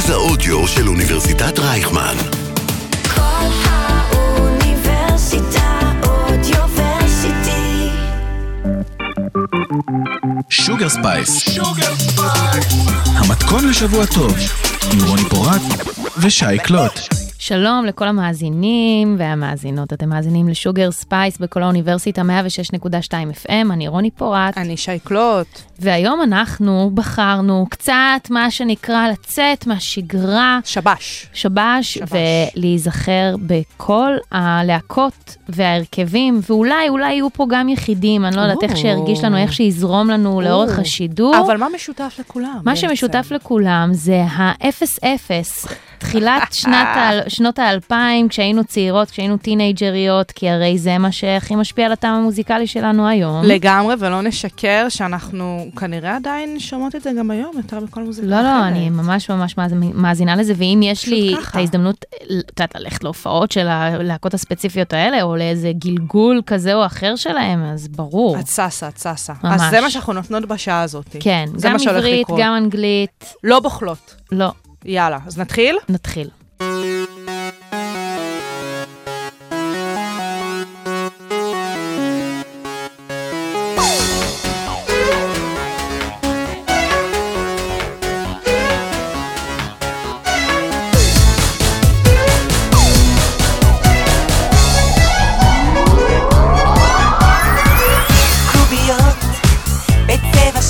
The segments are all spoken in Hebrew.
מרכז האודיו של אוניברסיטת רייכמן. כל האוניברסיטה אודיוורסיטי. שוגר ספייס, המתכון לשבוע טוב, עם רוני פורט ושי קלוט. שלום לכל המאזינים והמאזינות, אתם מאזינים לשוגר ספייס בכל האוניברסיטה 106.2 FM, אני רוני פורט. אני שי קלוט. והיום אנחנו בחרנו קצת מה שנקרא לצאת מהשגרה. שבש. ולהיזכר בכל הלהקות וההרכבים, ואולי יהיו פה גם יחידים, אני לא יודעת איך שירגיש לנו, איך שיזרום לנו לאורך השידור. אבל מה משותף לכולם? מה שמשותף לכולם זה ה-0-0. תחילת שנות ה-2000, כשהיינו צעירות, כשהיינו טינג'ריות, כי הרי זה מה שהכי משפיע על הטעם המוזיקלי שלנו היום. לגמרי, ולא נשקר שאנחנו כנראה עדיין שומעות את זה גם היום, יותר בכל מוזיקה אחרת. לא, אני ממש מאזינה לזה, ואם יש לי את ההזדמנות, ללכת להופעות של הלהקות הספציפיות האלה, או לאיזה גלגול כזה או אחר שלהם, אז ברור. את ססה. אז זה מה שאנחנו נותנות בשעה הזאת. כן, גם עברית, גם אנגלית. לא בוחלות. לא. יאללה, אז נתחיל? נתחיל.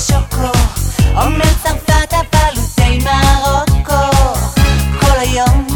Young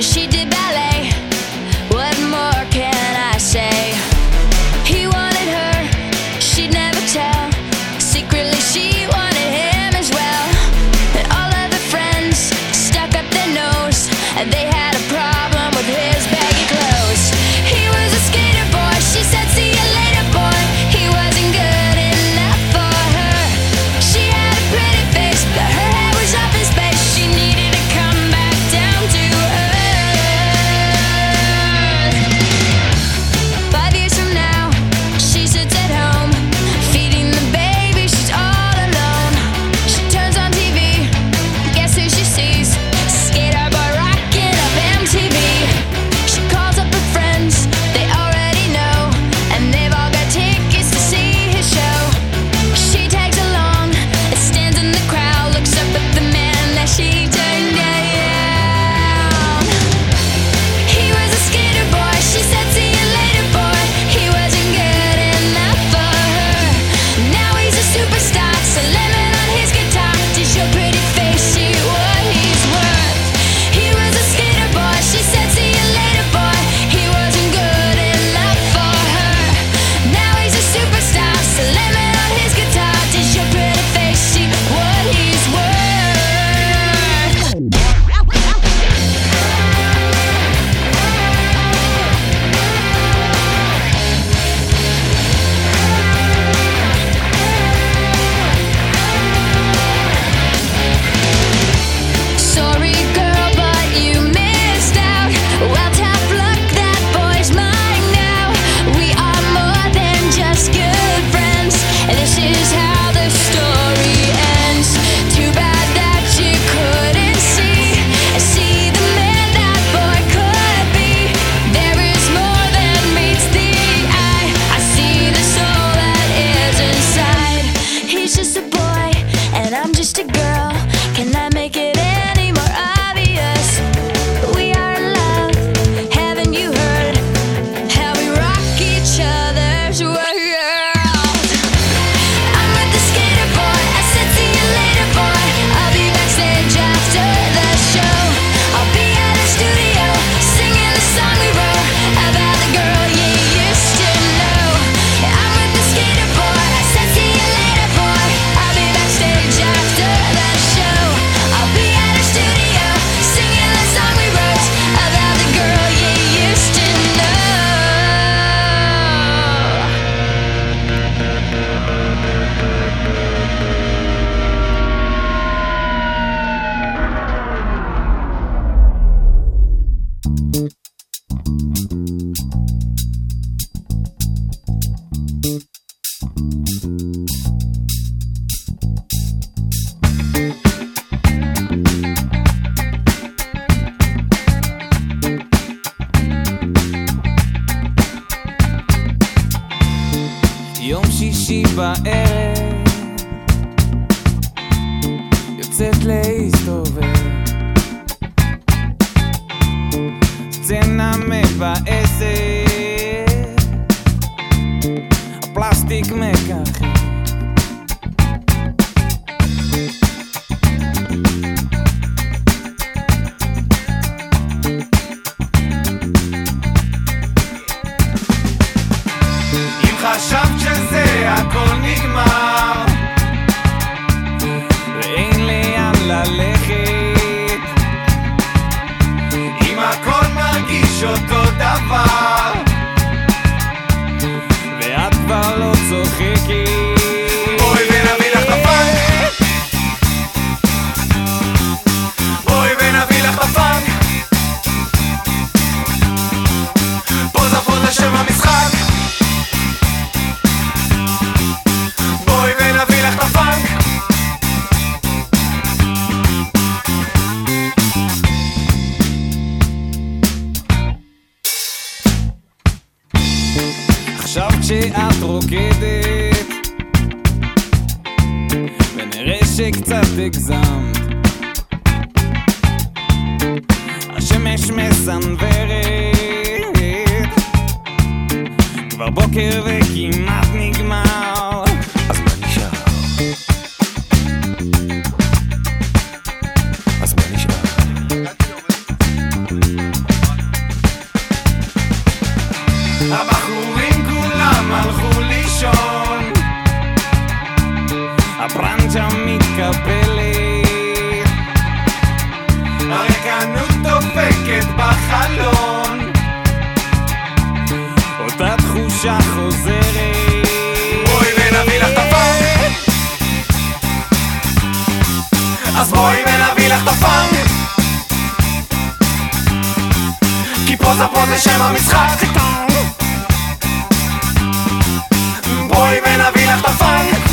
She did ballet. What more can I say? He wanted her, she'd never tell. Secretly she wanted him as well. And all of the friends stuck up their nose, and they had a problem with his baggy clothes. He was a skater boy, she said see you later boy. He wasn't good enough for her. She had a pretty face, but her head was up in space. She needed to come back down to earth. 5 years from now, she sits at home, feeding the baby, she's all alone. She turns on TV, guess who she sees? Skater boy rocking up MTV. She calls up her friends, they already know, and they've all got tickets to see his show. She tags along, stands in the crowd, looks up at the man that she turned down. He was a skater boy, she said see you later boy. He wasn't good enough for her. Now he's a superstar, slamming on his guitar. Does your pretty face see what he's worth? He was a skater boy, she said see you later boy. He wasn't good enough for her. Now he's a superstar, slamming on his guitar. Does your pretty face see what he's worth? Sorry girl, but you missed out. Well, tough luck, that boy's mine now. We are more than just good friends, and this is how the story ends. Too bad that you couldn't see the man that boy could be. There is more than meets the eye. I see the soul that is inside. He's just a boy, and I'm just a girl. Can I make it any more obvious? We are in love. Haven't you heard how we rock each other's world? I'm with the skater boy, I said see you later boy. I'll be backstage after the show. I'll be at a studio, singing the song we wrote about the girl you used to know. I'm with the skater boy, I said see you later boy. I'll be backstage after the show. I'll be at a studio, singing the song we wrote about the girl you used to know. יום שישי בערב יוצאת להסתובב, סצנה מבאסת, הפלסטיק מככב. אם חשבת שזה הכל נגמר ואין לאן ללכת, אם הכל מרגיש אותו דבר ואת כבר לא צוחקת, בואי ונביא לך את הפאנק, בואי ונביא לך את הפאנק, פוזה פוזה שם המשחק, בואי ונביא לך את הפאנק. חשבת שאת רוקדת ונראה שקצת הגזמת, השמש מסנוורת, כבר בוקר וכמעט נגמר, אז מה נשאר? אז מה נשאר? הבחורים כולם הלכו לישון, הברנצ'ה מתקפלת, הרקנות דופקת בחלון, אותה תחושה חוזרת. בואי ונביא לך את הפאנק, אז בואי ונביא לך את הפאנק, כי פוזה פוזה שם המשחק. בואי ונביא לך את הפאנק,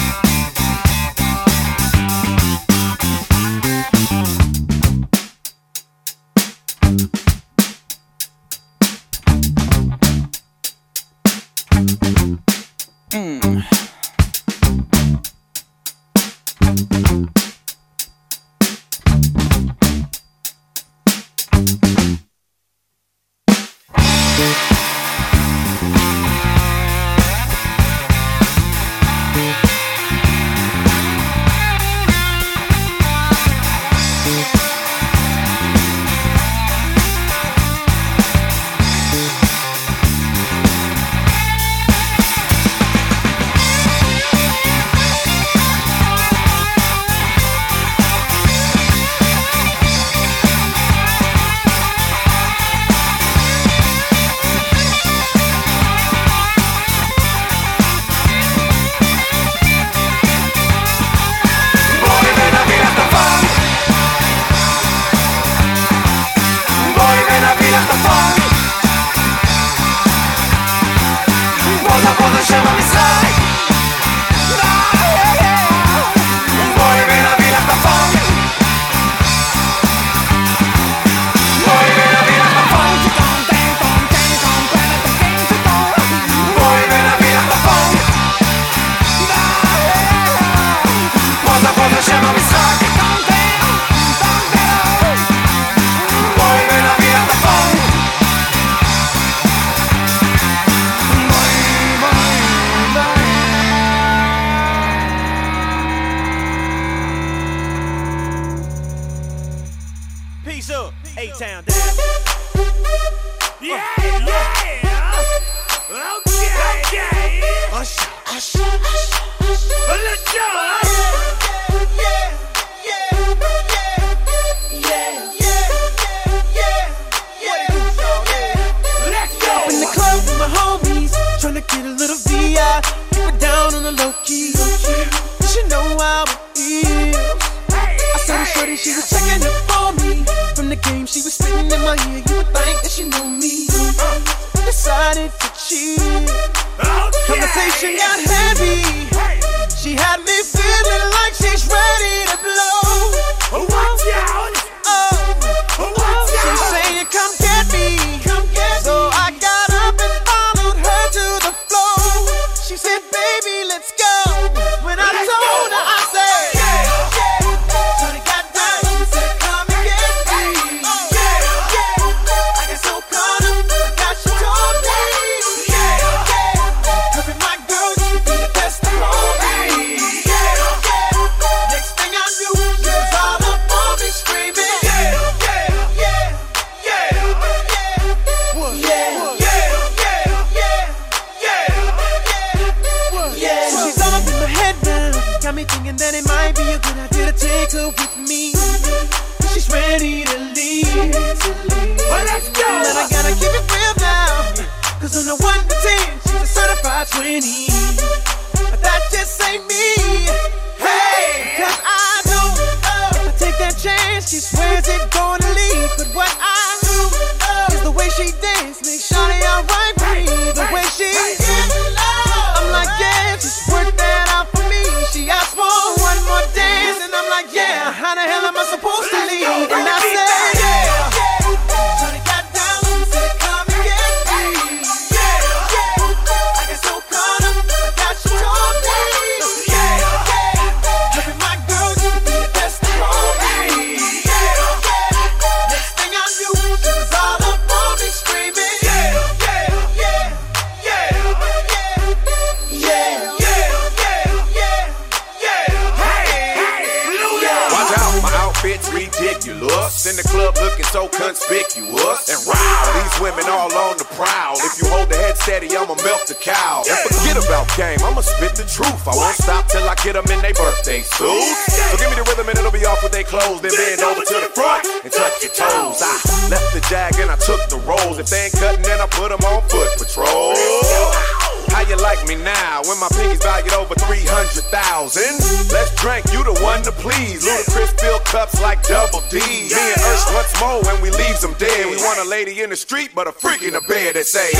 conspicuous. And wow, these women all on the prowl. If you hold the head steady, I'ma milk the cow. And forget about game, I'ma spit the truth. I won't stop till I get them in their birthday suits. So give me the rhythm and it'll be off with their clothes. Then bend over to the front and touch your toes. I left the jag and I took the rolls. If they ain't cutting, then I put them on foot patrol. How you like me now when my pinky's valued over 300,000? Let's drink, you the one to please. Ludacris fill cups like Double D. Me and Ursh once more when we leaves them dead. We want a lady in the street, but a freak in the bed that say,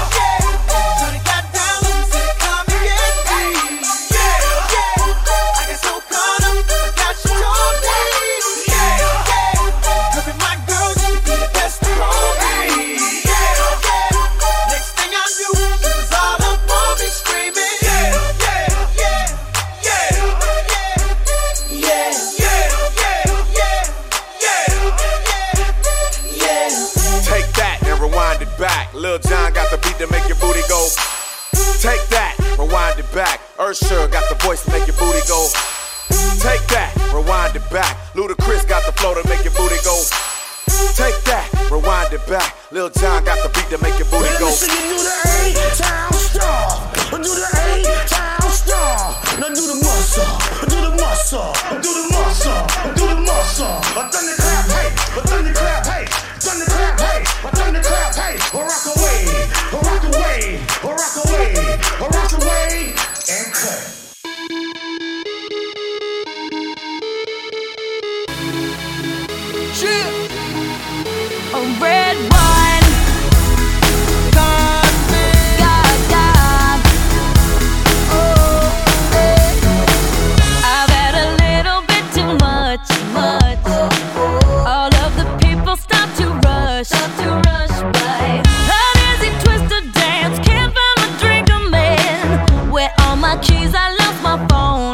Lil Jon got the beat to make your booty go. Take that, rewind it back. Usher got the voice to make your booty go. Take that, rewind it back. Ludacris got the flow to make your booty go. Take that, rewind it back. Lil Jon got the beat to make your booty go. Do the A-Town star. Do the A-Town star. Now do the muscle. Do the muscle. Do the muscle. Do the muscle. Thunderclap, hey. Thunderclap, hey. Thunderclap, hey. Thunderclap, hey. Rock away. Rock away. Rock away. Rock away. And cut. A red wine, God, God. Oh, I've had a little bit too much. All of the people stop to rush by. An easy twist to dance, can't find my drink, I'm in. Where all my keys? I lost my phone.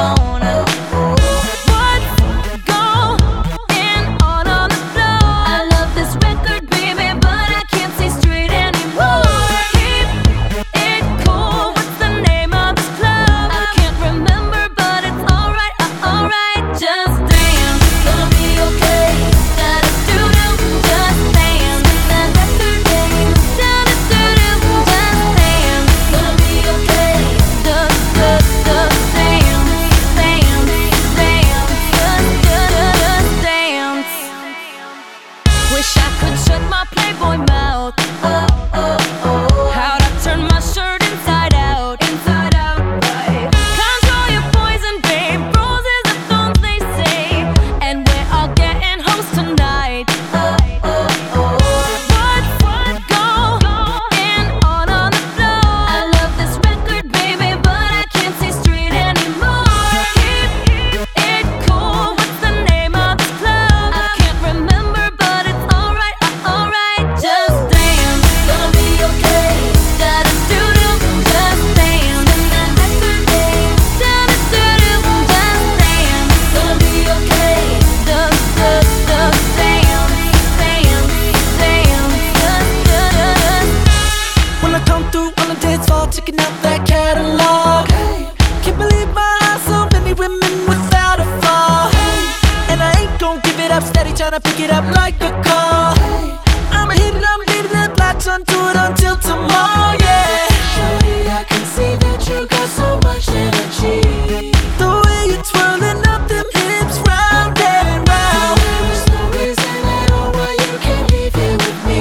Tryna pick it up like a call. I'ma hit it, latch onto it until tomorrow, yeah. Shorty, I can see that you got so much energy. The way you're twirling up them hips round and round. There is no reason at all why you can't leave here with me.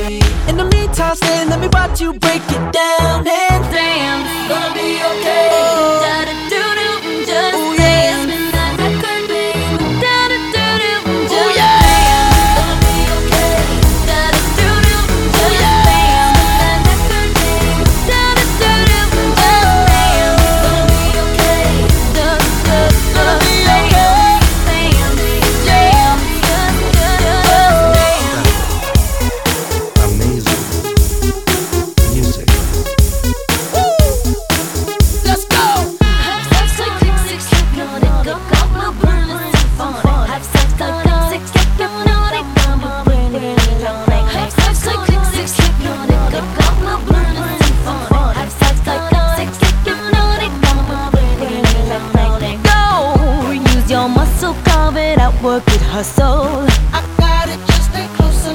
In the meantime, stay, let me watch you break it down and dance. Gonna be okay. Da-da-doo-doo, just dance. Work it, hustle. I got it, just stay close and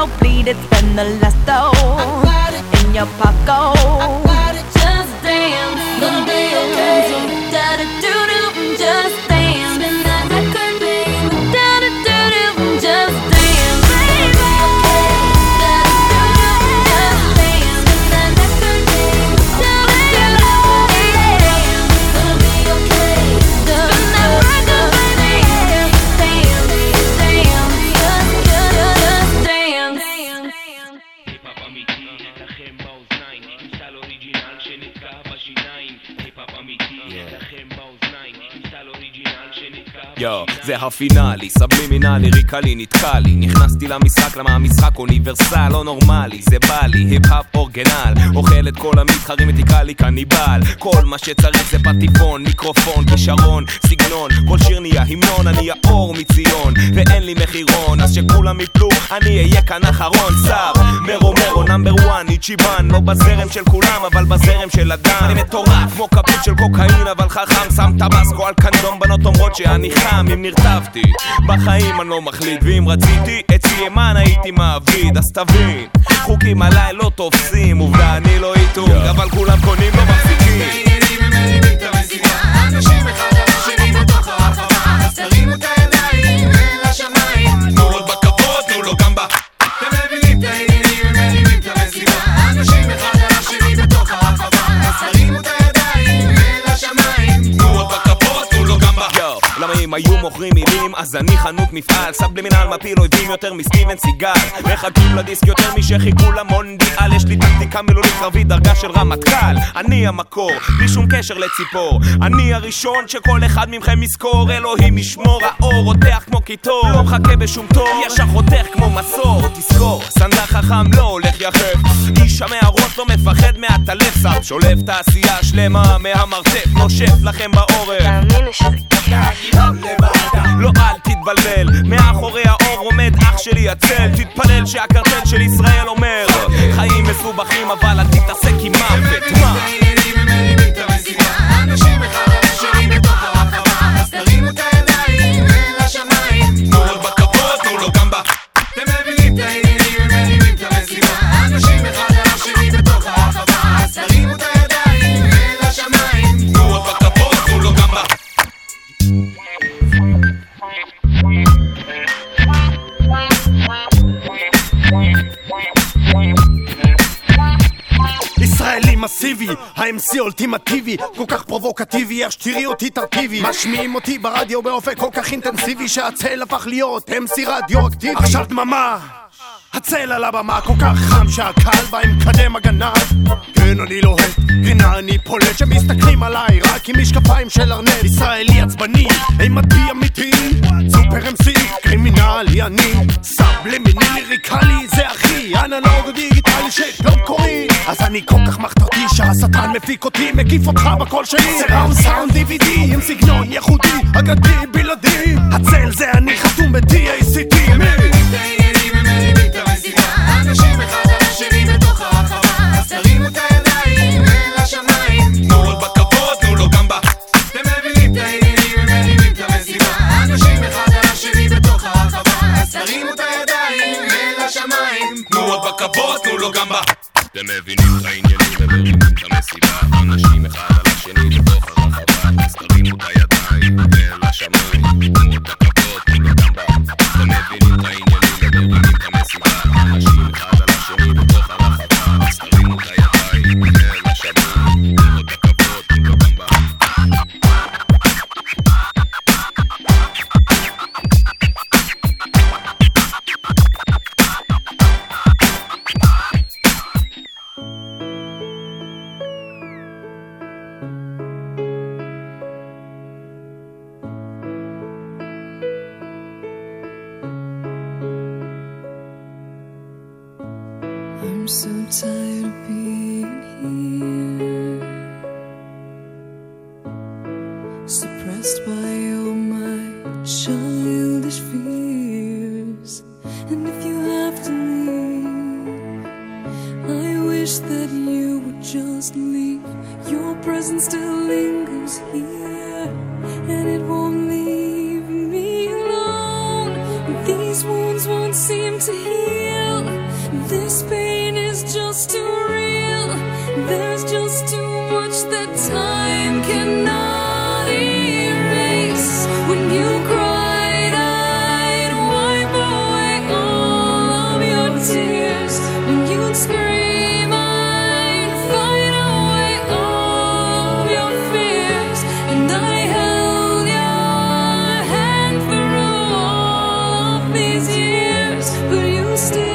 bleed, it's been the last though. In your pocket, just dance, gonna be okay. Da da do do, just dance. Spin that record, baby. Da da do do, just dance, baby. Da da do do, just dance. Spin that record, baby. Da da do do, gonna be okay. Spin that record, baby. Dance, dance, just dance. היפ-אפ אמיתי, לכם באוזניים, סל אוריג'ינל שנתקע בשיניים. היפ-אפ אמיתי, לכם באוזניים, סל אוריג'ינל שנתקע יו, זה הפינאלי, סבלימינלי, ריקלי, נתקע לי. נכנסתי למשחק, למה המשחק אוניברסל, לא נורמלי, זה בא לי, היפ-אפ אורגנל. אוכל את כל המתחרים ותקרא לי קניבל. כל מה שצריך זה פטיפון, מיקרופון, כישרון, סגנון. כל שיר נהיה המנון, אני האור מציון, ואין לי מחירון, אז שכולם יפלו, אני אהיה כאן אחרון. שר, מרו מרו, נאמבר וואן, איצ'יבן. לא בזרם של כולם, אבל בזרם של אדם. אני מטורף, כמו כפית של קוקאין, אבל חכם. שם טבסקו על קנדום, בנות אומרות שאני חם. אם נרטבתי, בחיים אני לא מחליט, ואם רציתי, אצלי ימן הייתי מעביד. אז תבין, חוקים עליי לא תופסים, עובדה אני לא איתו, אבל כולם קונים לא מחזיקים. אנשים אחד על השני בתוך הרחבה, אז תרימו את הידיים אל השמיים. תנו לו בכבוד, תנו לו גם בה. אתם מבינים את העניינים, הם מרימים את המסיבה. אנשים אחד על השני בתוך הרחבה, אז תרימו את הידיים אל השמיים. תנו לו בכבוד, תנו לו גם בה. למה אם היו מוכרים מילים, אז אני חנות מפעל. סבלימינל מפיל אויבים יותר מסטיבן סיגל. מחכים לדיסק יותר משחיכו למונדיאל. יש לי טקטיקה מילולית קרבית, דרגה של רמטכ"ל. אני המקור, בלי שום קשר לציפור. אני הראשון שכל אחד מכם יזכור. אלוהים ישמור, האור רותח כמו קיטור. לא מחכה בשום תור, ישר רותח כמו מסור. תזכור, סנדל חכם לא הולך יחף. איש המערות לא מפחד מהטלף. סב שולף תעשייה שלמה מהמרתף. נושף לכם בעורף, תאמין לי שזה לא אל תתבלבל, מאחורי האור עומד אח שלי הצל. תתפלל שהקרטל של ישראל אומר חיים מסובכים אבל אל תתעסק עם מוות. מה? הם מרימים את המסיבה. אנשים אחד על השני בתוך הרחבה, אז תרימו את הידיים אל השמיים. תנו לו בכבוד, תנו לו גם בה. אתם מבינים את העניינים, הם מרימים את המסיבה. אנשים אחד על השני בתוך הרחבה, אז תרימו את הידיים אל השמיים. תנו לו בכבוד, תנו לו גם בה. ישראלי מסיבי, ה-MC אולטימטיבי, כל כך פרובוקטיבי, איך שתראי אותי תרכיבי. משמיעים אותי ברדיו באופק כל כך אינטנסיבי, שהצל הפך להיות MC רדיו-אקטיבי. עכשיו דממה, הצל על הבמה כל כך חם שהקהל בא עם קדם הגנב. כן אני לוהט, הנה אני פולט, שמסתכלים עליי רק עם משקפיים של ארנט. ישראלי עצבני, עם מטבע אמיתי, סופר MC, קרימינלי אני, סבלימיני ליריקלי, זה אחי, אנלוג דיגיטלי שלא קוראים. אז אני כל כך מחתרתי שהשטן מפיק אותי, מקיף אותך בקול שלי. זה ראונד סאונד DVD עם סגנון ייחודי, אגדי בלעדי. הצל זה אני חתום ב-TACT. אנשים אחד על השני בתוך הרחבה, אז תרימו את הידיים אל השמיים. תנו לו בכבוד, תנו לו גם בה. אתם מבינים את העניינים, הם מרימים את המסיבה. אנשים אחד על השני בתוך הרחבה, אז תרימו את הידיים אל השמיים. תנו לו בכבוד, תנו לו גם בה. אתם מבינים את העניינים, הם מרימים את המסיבה. אנשים אחד על השני בתוך הרחבה, אז תרימו את הידיים אל השמיים. תנו לו בכבוד, תנו לו גם בה. אתם מבינים את העניינים, הם מרימים את המסיבה. אנשים אחד על השני בתוך הרחבה, אז תרימו את הידיים אל השמיים. תנו לו בכבוד, תנו לו גם בה. I'm so tired of being here, suppressed by all my childish fears. And if you have to leave, I wish that you would just leave. Your presence still lingers here, and it won't leave me alone. These wounds won't seem to heal. This pain is just too real. There's just too much that time cannot erase. When you cried, I'd wipe away all of your tears. When you'd scream, I'd fight away all of your fears. And I held your hand through all of these years, but you still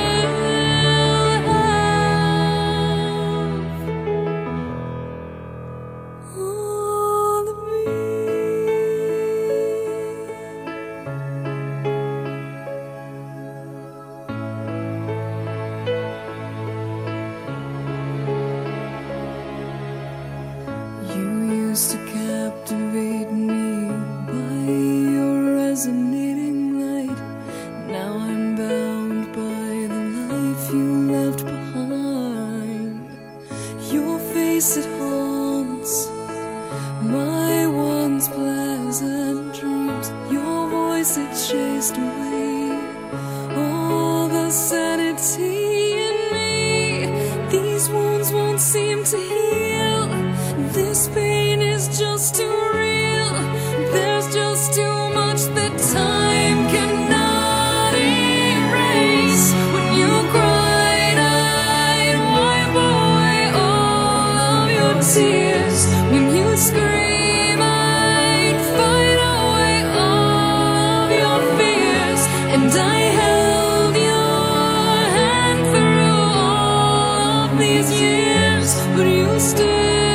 to captivate me by your resonating light. Now I'm bound by the life you left behind. Your face, it haunts my once pleasant dreams. Your voice, it chased away all the sanity in me. These wounds won't seem to heal. This pain is just too real. There's just too much that time cannot erase. When you cried, I'd wipe away all of your tears. When you scream, I'd fight away all of your fears. And I held your hand through all of these years, but you still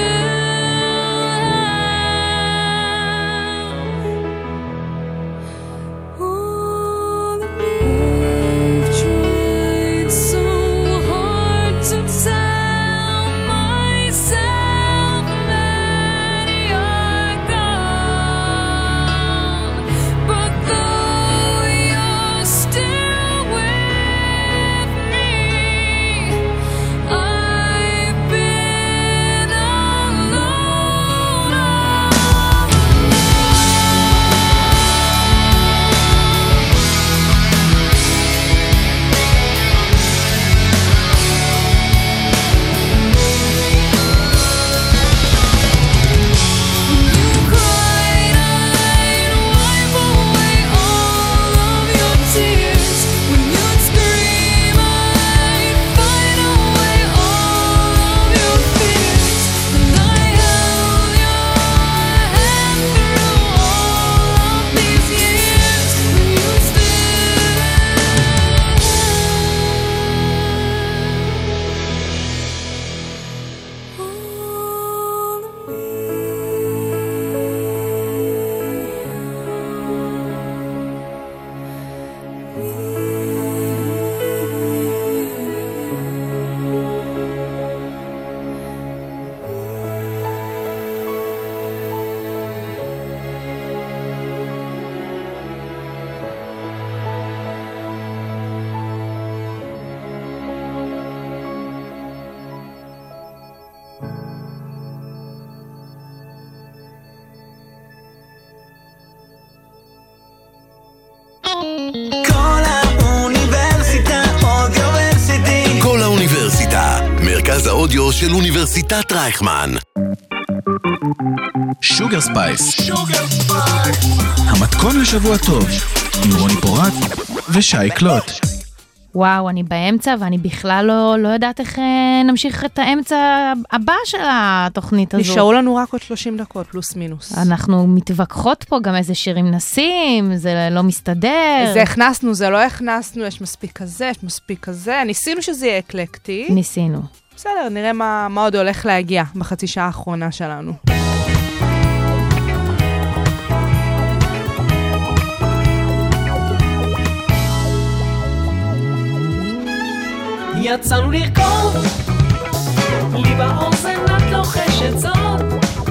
כל האוניברסיטה, מרכז האודיו של אוניברסיטת רייכמן. שוגר ספייס, המתכון לשבוע טוב, עם רוני פורט ושי קלוט. וואו, אני באמצע ואני בכלל לא יודעת איך נמשיך את האמצע הבא של התוכנית הזו. נשארו לנו רק עוד 30 דקות, פלוס מינוס. אנחנו מתווכחות פה גם איזה שירים נשים, זה לא מסתדר. זה הכנסנו, זה לא הכנסנו, יש מספיק כזה, יש מספיק כזה. ניסינו שזה יהיה אקלקטי. ניסינו. בסדר, נראה מה עוד הולך להגיע בחצי שעה האחרונה שלנו. יצאנו לרקוד, לי באוזן את לוחשת זאת,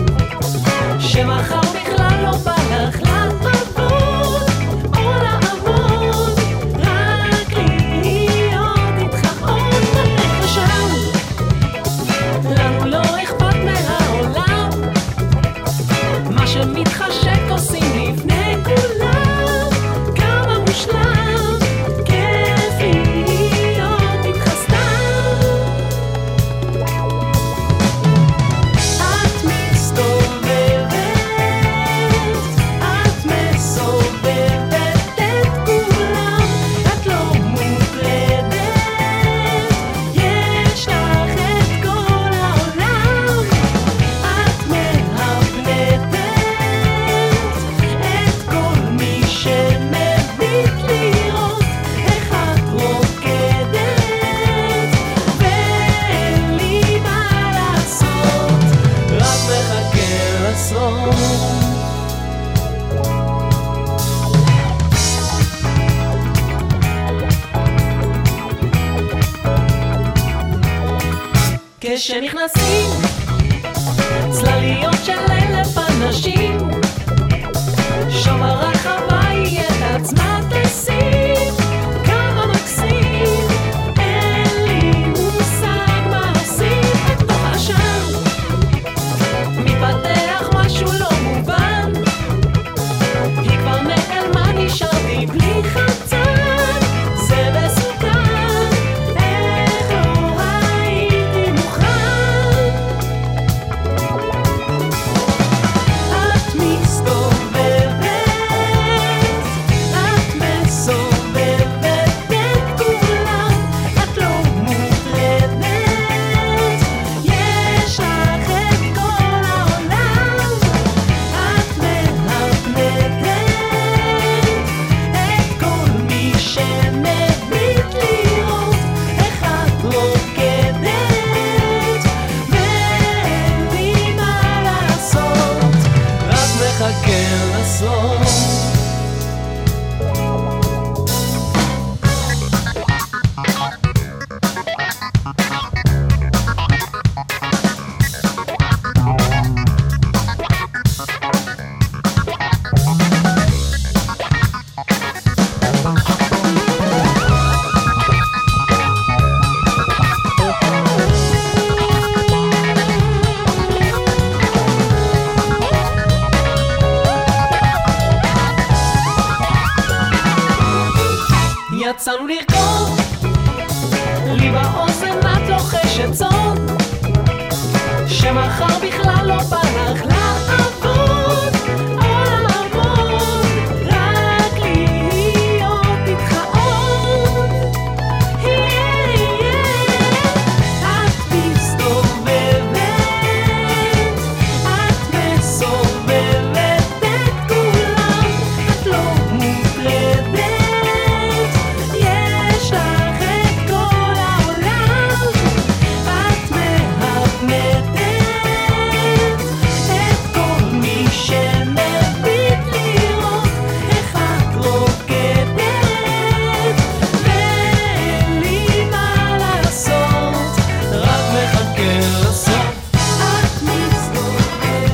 שמחר בכלל לא בא לך לעבוד, או לעבוד, רק להיות איתך עוד בלב ושם, לנו לא אכפת מהעולם, מה שמתחשק עושים לפני כולם, כמה מושלם, כיף להיות איתך. כשנכנסים צלליות של אלף אנשים שם הרחבה היא את עצמה תשים כמה מקסים אין לי מושג מה עושים בתוך השם מתפתח משהו לא מובן היא כבר נעלמה נשארתי בלי חצן זה מסוכן איך לא הייתי מוכן את מסתובבת את מסובבת את כולם את לא מוטרדת יש לך את כל העולם את מהפנדת את כל מי שמביט לראות איך את רוקדת ואין לי מה לעשות רק מחכה לסוף יצאנו לרקוד לי באוזן את לוחשת סוד שמחר בכלל לא בא לך לעבוד או לעבוד רק להיות איתך עוד את מסתובבת את מסובבת את כולם את לא מוטרדת יש לך את כל העולם את מהפנדת את כל מי שמביט לראות איך את רוקדת ואין לי מה לעשות רק מחכה לסוף את מסתובבת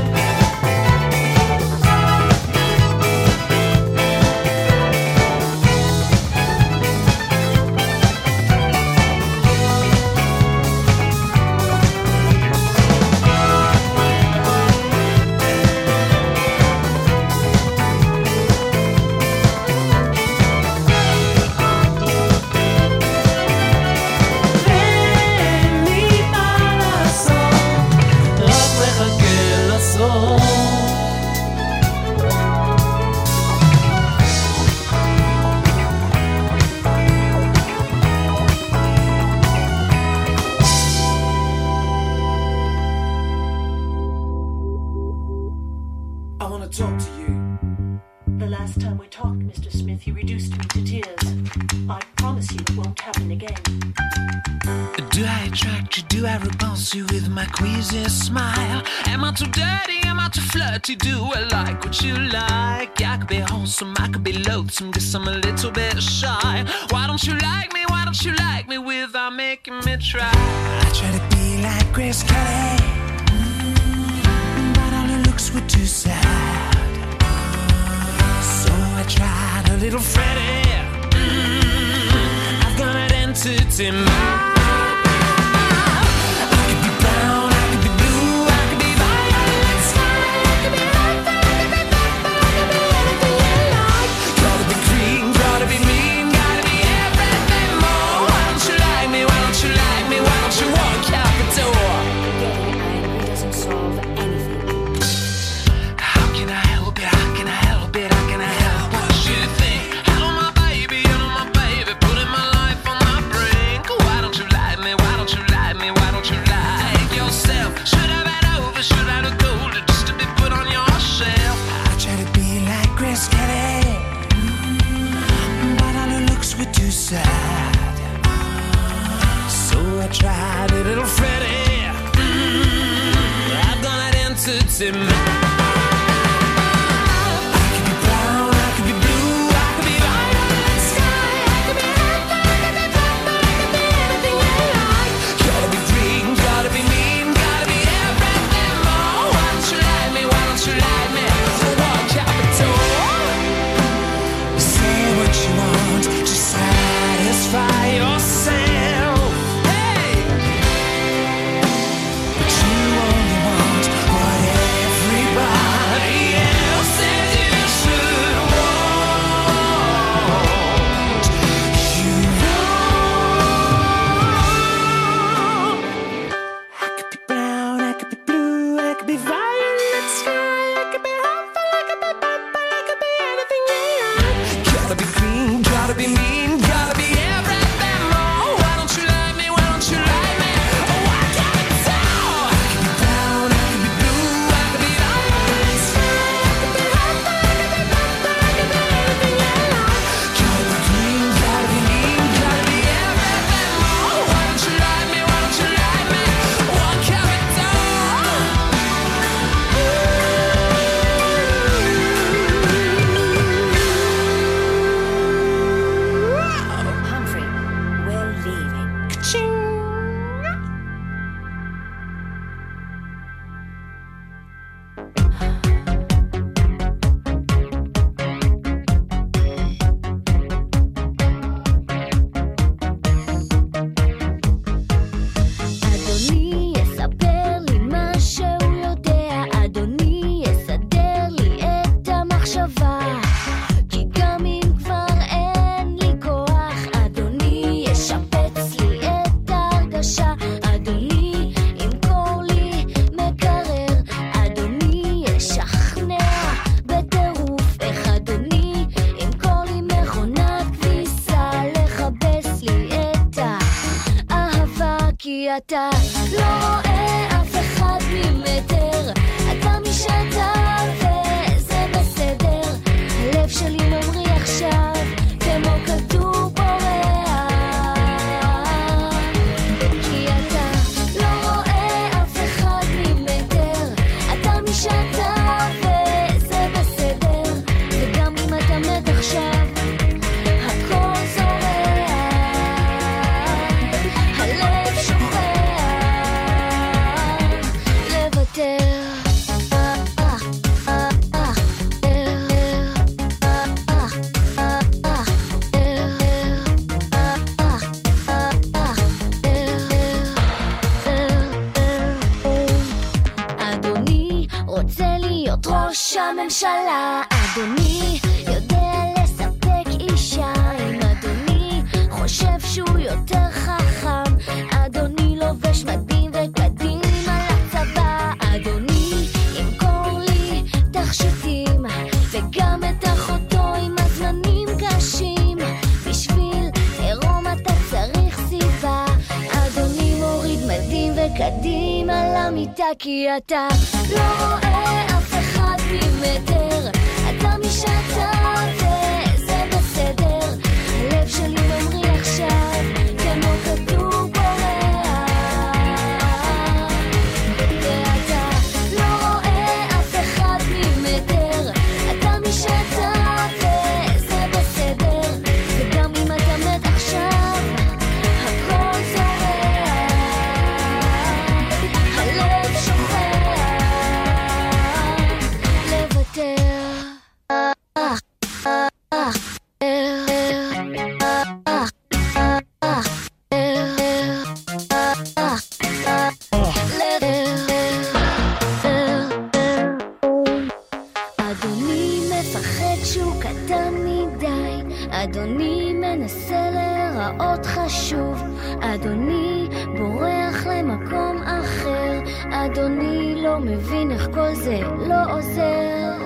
ואין לי מה לעשות רק מחכה לסוף I want to talk to you. The last time we talked, Mr. Smith, you reduced me to tears. I promise you it won't happen again. Do I attract you? Do I repulse you with my queasy smile? Am I too dirty? Am I too flirty? Do I like what you like? I could be wholesome, I could be loathsome, guess I'm a little bit shy. Why don't you like me? Why don't you like me without making me try? I try to be like Grace Kelly, but all her looks were too sad. So I tried a little Freddie. I've got an entity mind. I could be brown, I could be blue, I could be violet sky, I could be red, I could be purple, I could be anything you like. Gotta be green, gotta be mean, gotta be everything more. Why don't you like me? Why don't you like me? Why don't you walk out the door? Getting angry doesn't solve anything. How can I help it? How can I help it? How can I help what you think? Hello my baby, putting my life on my brink. Why don't you like me? Why don't you like me? Why don't you like yourself? Should I been over? Should I have golden just to be put on your shelf? I try to be like Grace Kelly, but all her looks were too sad. So I tried a little Freddie. I've got an entity mind. Gotta be אתה לא רואה אף אחד ממטר, אתה משתה וזה בסדר, הלב שלי ממריא עכשיו כמו כדור בורח, כי אתה לא רואה אף אחד ממטר, אתה משתה וזה בסדר, וגם אם אתה מת עכשיו הכל זורח, הלב שוכח לוותר. אדוני רוצה להיות ראש הממשלה, אדוני יודע לספק אישה, אם אדוני חושב שהוא יותר חכם, אדוני לובש מדים וקדים על הצבא, אדוני ימכור לי תכשיטים וגם את אחותו עם הזמנים קשים, בשביל עירום אתה צריך סיבה, אדוני מוריד מדים וקדים על המיטה, כי אתה לא רואה אף אחד ממטר, אתה משתה וזה בסדר, הלב שלי ממריא עכשיו כמו כדור בורח, ואתה לא רואה אף אחד ממטר, אתה משתה וזה בסדר, וגם אם אתה מת עכשיו הכל זורח, הלב שוכח לוותר. אדוני מפחד שהוא קטן מדי, אדוני מנסה להיראות חשוב, אדוני בורח למקום אחר, אדוני לא מבין איך כל זה לא עוזר,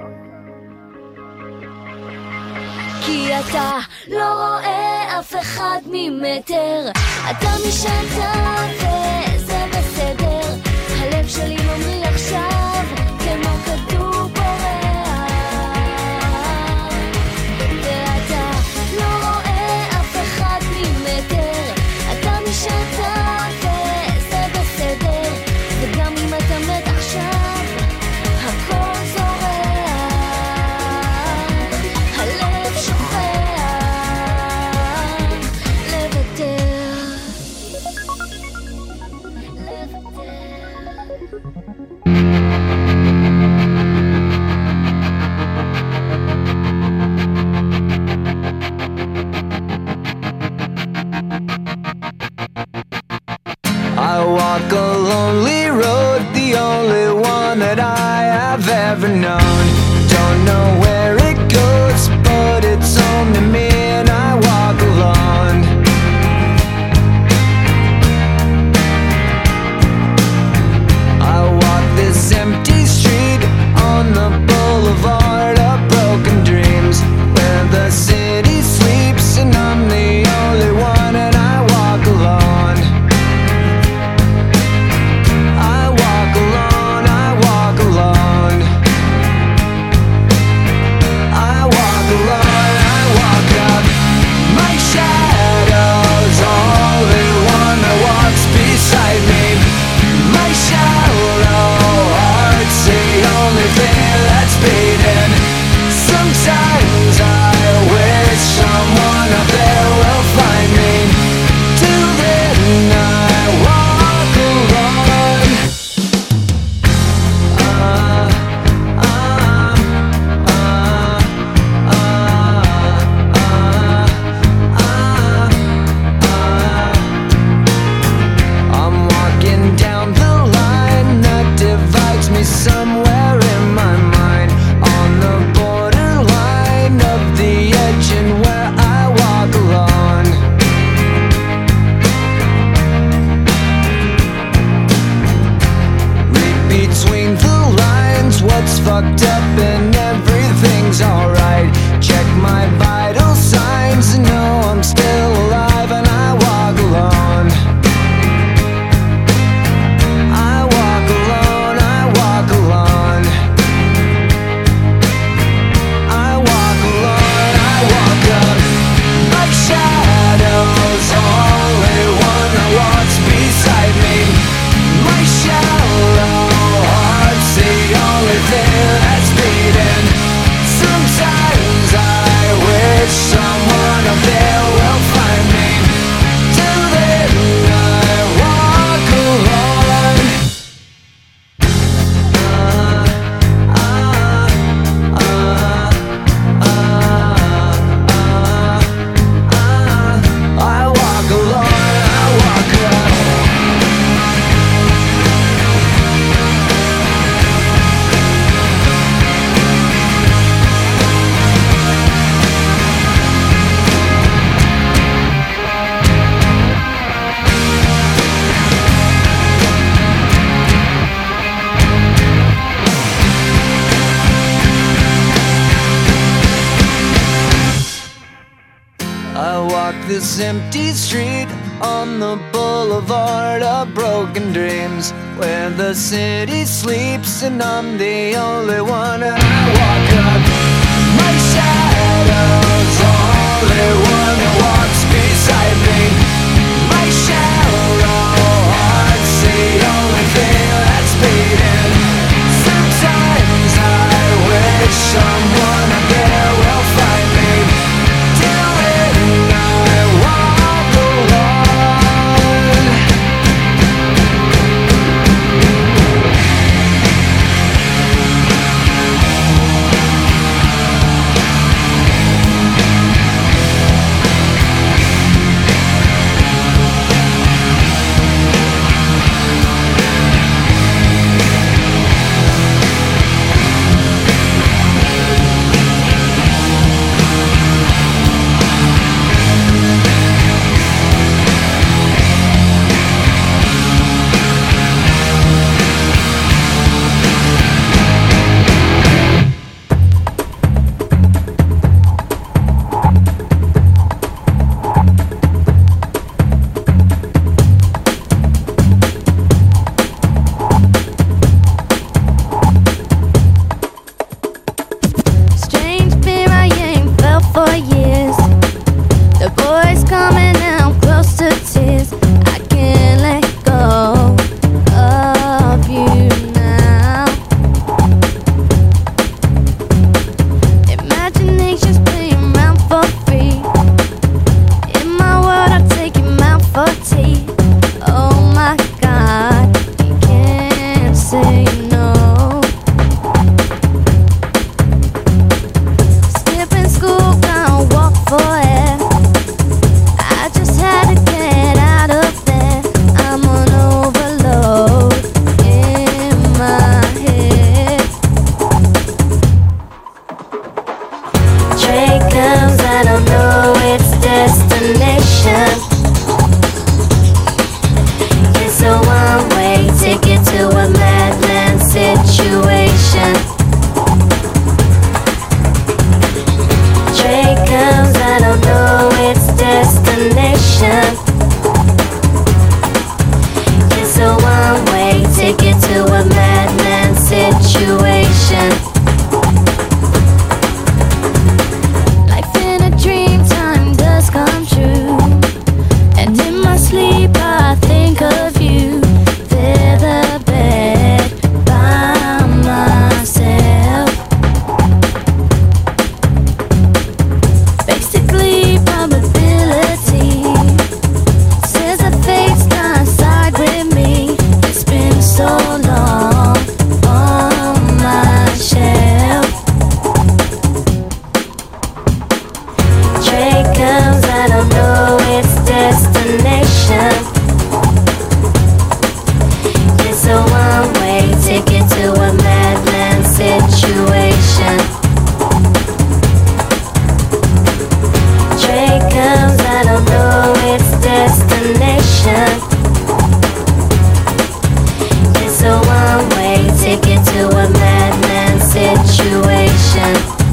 כי אתה לא רואה אף אחד ממטר, אתה משתה וזה בסדר, הלב שלי ממריא עכשיו כמו כדור בורח, ואתה לא רואה אף אחד ממטר, אתה משתה וזה בסדר, וגם אם אתה מת עכשיו הכל זורח, הלב שוכח לוותר, לוותר. I walk this empty street on the boulevard of broken dreams, where the city sleeps and I'm the only one. And I walk up, my shadow's only one that walks beside me. My shallow heart's the only thing that's beating. Sometimes I wish someone out there will find me. Till then I walk alone. Strange fear I ain't felt for years. The voice coming out close to tears. I can't let go of you now. Imagination's playing around for free. In my world, I take him out for tea. Oh my God, you can't say no. Skipping school, gonna walk for air. I just had to get out of there. I'm on overload in my head. Train comes, I don't know its destination. It's a one-way ticket to a madman situation. Train comes, I don't know its destination. It's a one-way ticket to a madman situation. Life in a dream, time does come true. And in my sleep I think of you. Fear the bed by myself. Basically probability says the fate's gonna side with me. It's been so long on my shelf. Train comes, I don't know its destination. It's a one-way ticket to a madman situation. Train comes, I don't know its destination. It's a one-way ticket to a madman situation.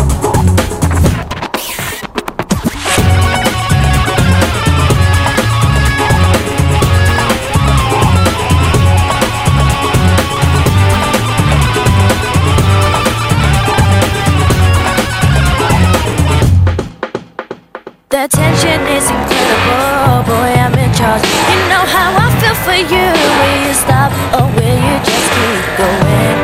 The tension is incredible, boy, I'm in charge. You know how I feel for you. Will you stop or will you just keep going?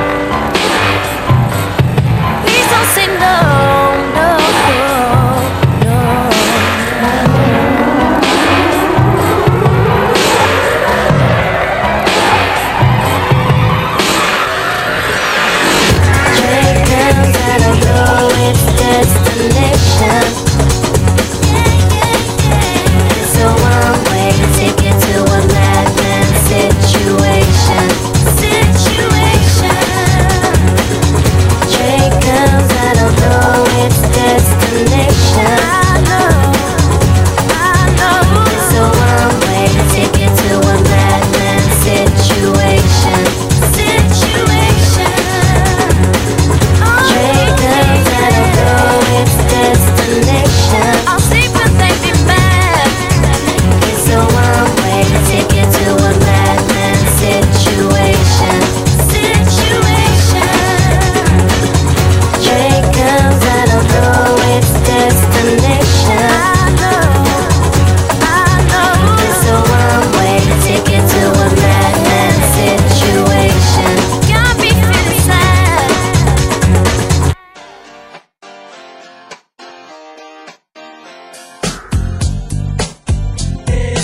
Please don't say no, no, no. Train comes, I don't know its destination. It's a one-way ticket to a madman situation. Situation.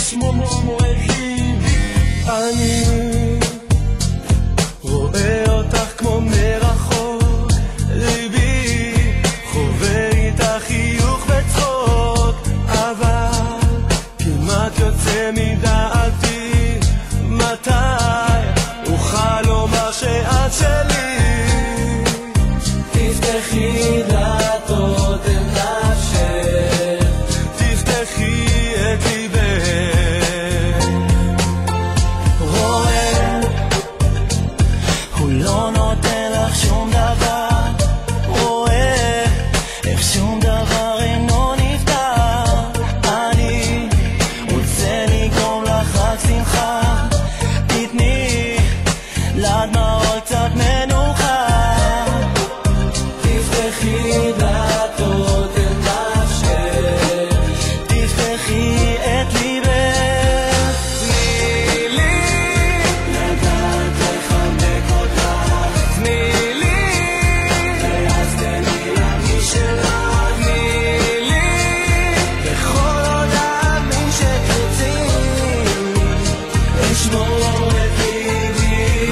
es momo היחידי. אני רואה אותך כמו מרחוק, ליבי חווה איתך חיוך וצחוק, אבל כמעט יוצא מדעתי מתי אוכל לומר שאת שלי. תפתחי דלתות אל נפשך, תפתחי את ליבך. רואה, הוא לא נותן לך שום דבר, רואה איך שום דבר אינו נפתר. אני רוצה לגרום לך רק שמחה, תתני לדמעות קצת מנוחה. תפתחי דלתות אל נפשך, תפתחי את ליבך. תני לי לדעת לחבק אותך, תני לי ואז תני להרגיש שלך, תני לי בכל עוד להאמין שתרצי לשמור את ליבי.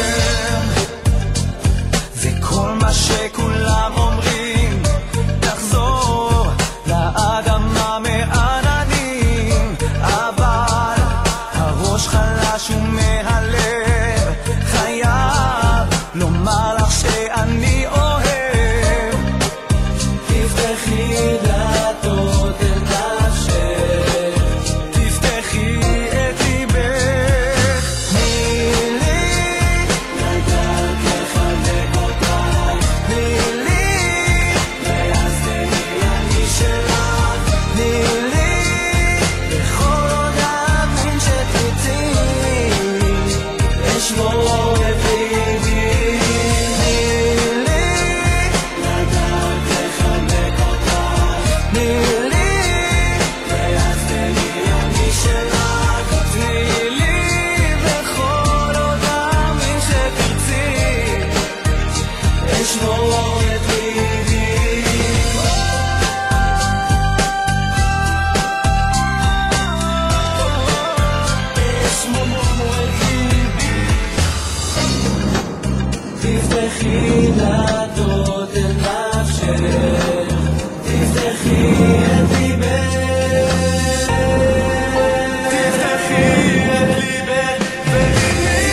וכל מה שכולם אומרים, תחזור לאדמה מעננים, אבל הראש חלש ומהלב חייב לומר לך שאני אוהב. תפתחי דלתות אל נפשך, תפתחי את ליבך. תני לי לדעת לחבק אותך, תני לי ואז תני להרגיש שלך, תני לי בכל עוד להאמין שתרצי לשמור את ליבי. תני לי לדעת לחבק אותך, תני לי ואז תני להרגיש שלך, תני לי בכל עוד להאמין שתרצי לשמור את ליבי. es momo היחידי. תפתחי דלתות אל נפשך, תפתחי את ליבך. תפתחי את ליבך ותני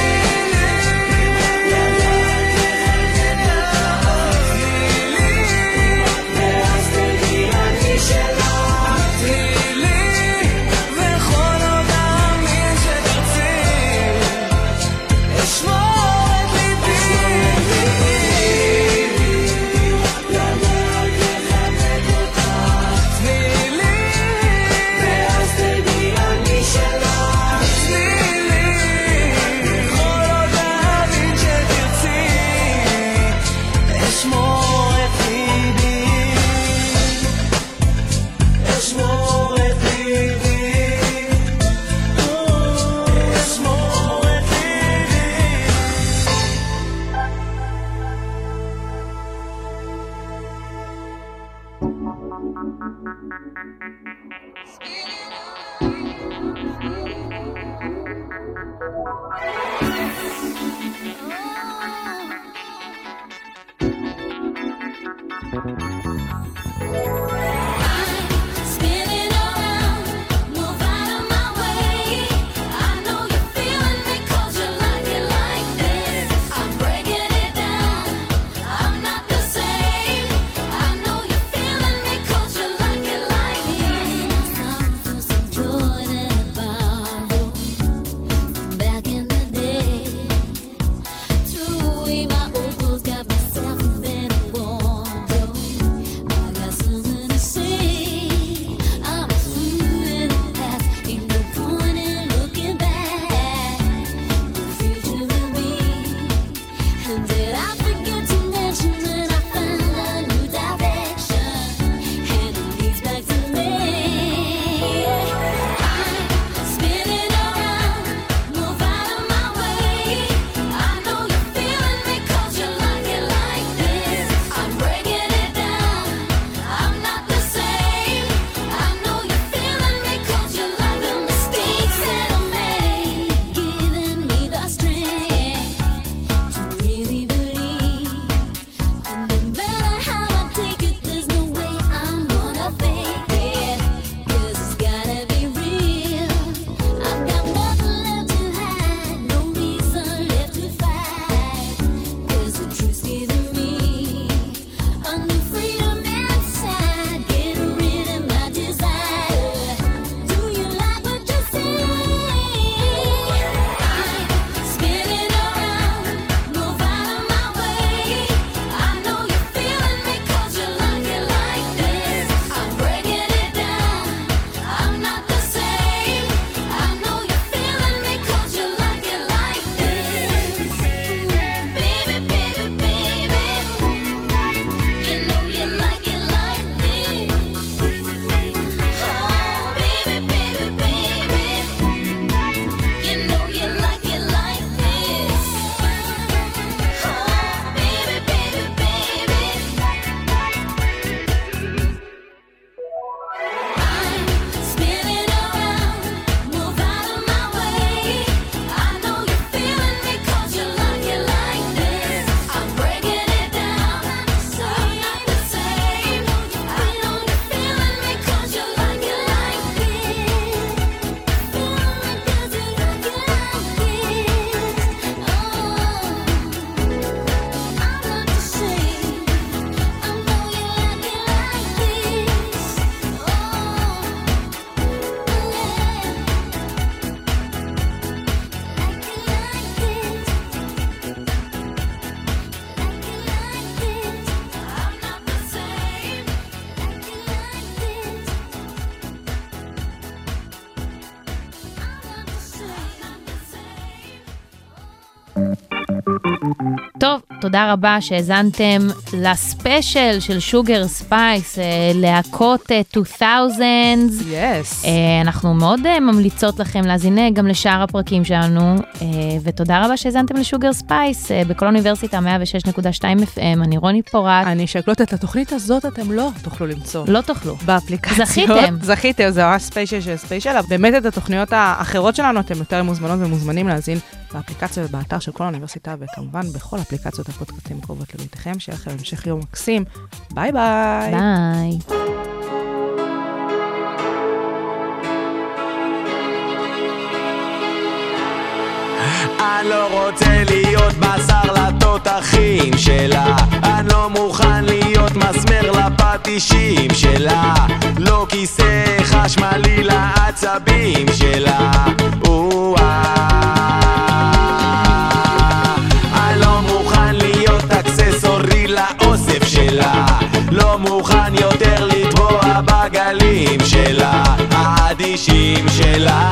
ואז תני להרגיש שלך, תני לי וכל עוד להאמין שתרצי לשמור את ליבי. לדעת לחבק אותך, תני לי ואז תדעי אני שלך, תני לי וכל עוד להאמין שתרצי לשמור את ליבי, לשמור את ליבי, לשמור את ליבי. Spinning around, move out of my way. I know you're feeling me 'cause you like it like this. I'm breaking it down, I'm not the same. I know you're feeling me 'cause you like it like this. Some feel some joy that I borrowed back in the day. Threw away my old clothes, got myself a better wardrobe. טוב, תודה רבה שהזנתם לספיישל של שוגר ספייס, להקות 2000s. Yes. אנחנו מאוד ממליצות לכם להזין גם לשאר הפרקים שלנו, ותודה רבה שהזנתם לשוגר ספייס, בכל אוניברסיטה 106.2 FM, אני רוני פורט. אני שקלוט את התוכנית הזאת, אתם לא תוכלו למצוא. לא תוכלו. באפליקציות. זכיתם. זכיתם, זה ממש ספיישל של ספיישל. באמת את התוכניות האחרות שלנו, אתם יותר מוזמנות ומוזמנים להזין באפליקציה ובאתר של כל האוניברסיטה, וכמובן בכל אפליקציות הפודקאסטים קרובות לביתכם. שיהיה לכם המשך יום מקסים. ביי ביי. ביי. אני לא רוצה להיות בשר לתותחים שלה, אני לא מוכן להיות מסמר לפטישים שלה, לא כיסא חשמלי לעצבים שלה. אני לא מוכן להיות אקססורי לאוסף שלה, לא מוכן יותר לטבוע בגלים שלה, האדישים שלה.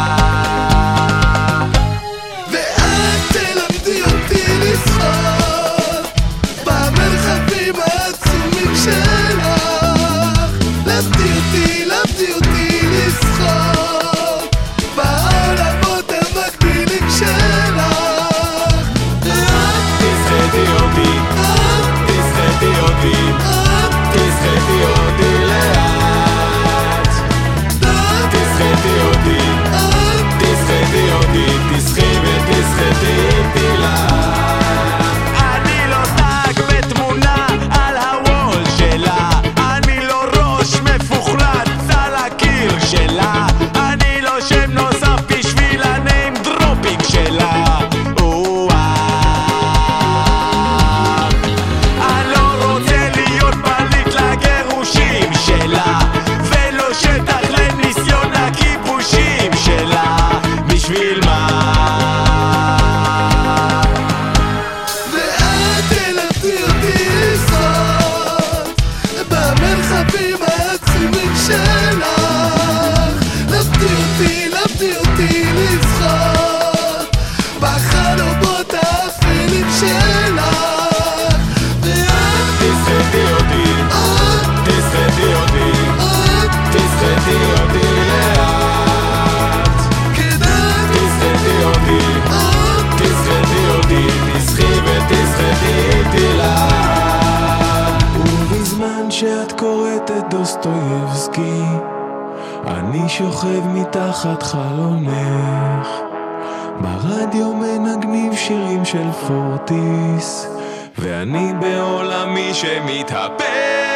אני שוכב מתחת חלונך, ברדיו מנגנים שירים של פורטיס, ואני בעולמי שמתהפך.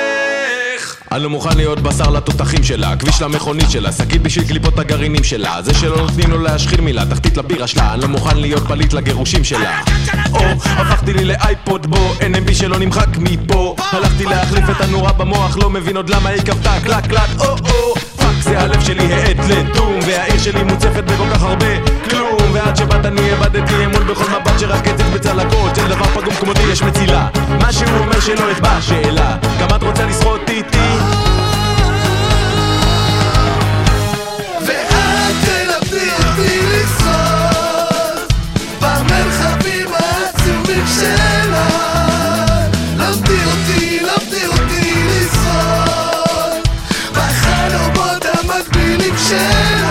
אני לא מוכן להיות בשר לתותחים שלה, כביש למכונית שלה, שקית בשביל קליפות הגרעינים שלה, זה שלא נותנים לו להשחיר מילה, תחתית לבירה שלה. אני לא מוכן להיות פליט לגירושים שלה. או, הפכתי לי לאייפוד בו, NMB שלא נמחק מפה, הלכתי להחליף את הנורה במוח, לא מבין עוד למה היא כבתה קלק קלק. או, פאק זה הלב שלי העד לדום, והעיר שלי מוצפת בכל כך הרבה כלום, ועד שבאת אני הבדתי אמון בכל מבט שרק קצת בצלקות, של דבר פגום כמותי יש מצילה, מה שהוא אומר שלא אכבה שאלה, כמה את רוצה לשחות איתי? ואת תלמדי אותי לשחות במרחבים העצומים שלה, למדי אותי לשחות בחלומות המקבילים שלה.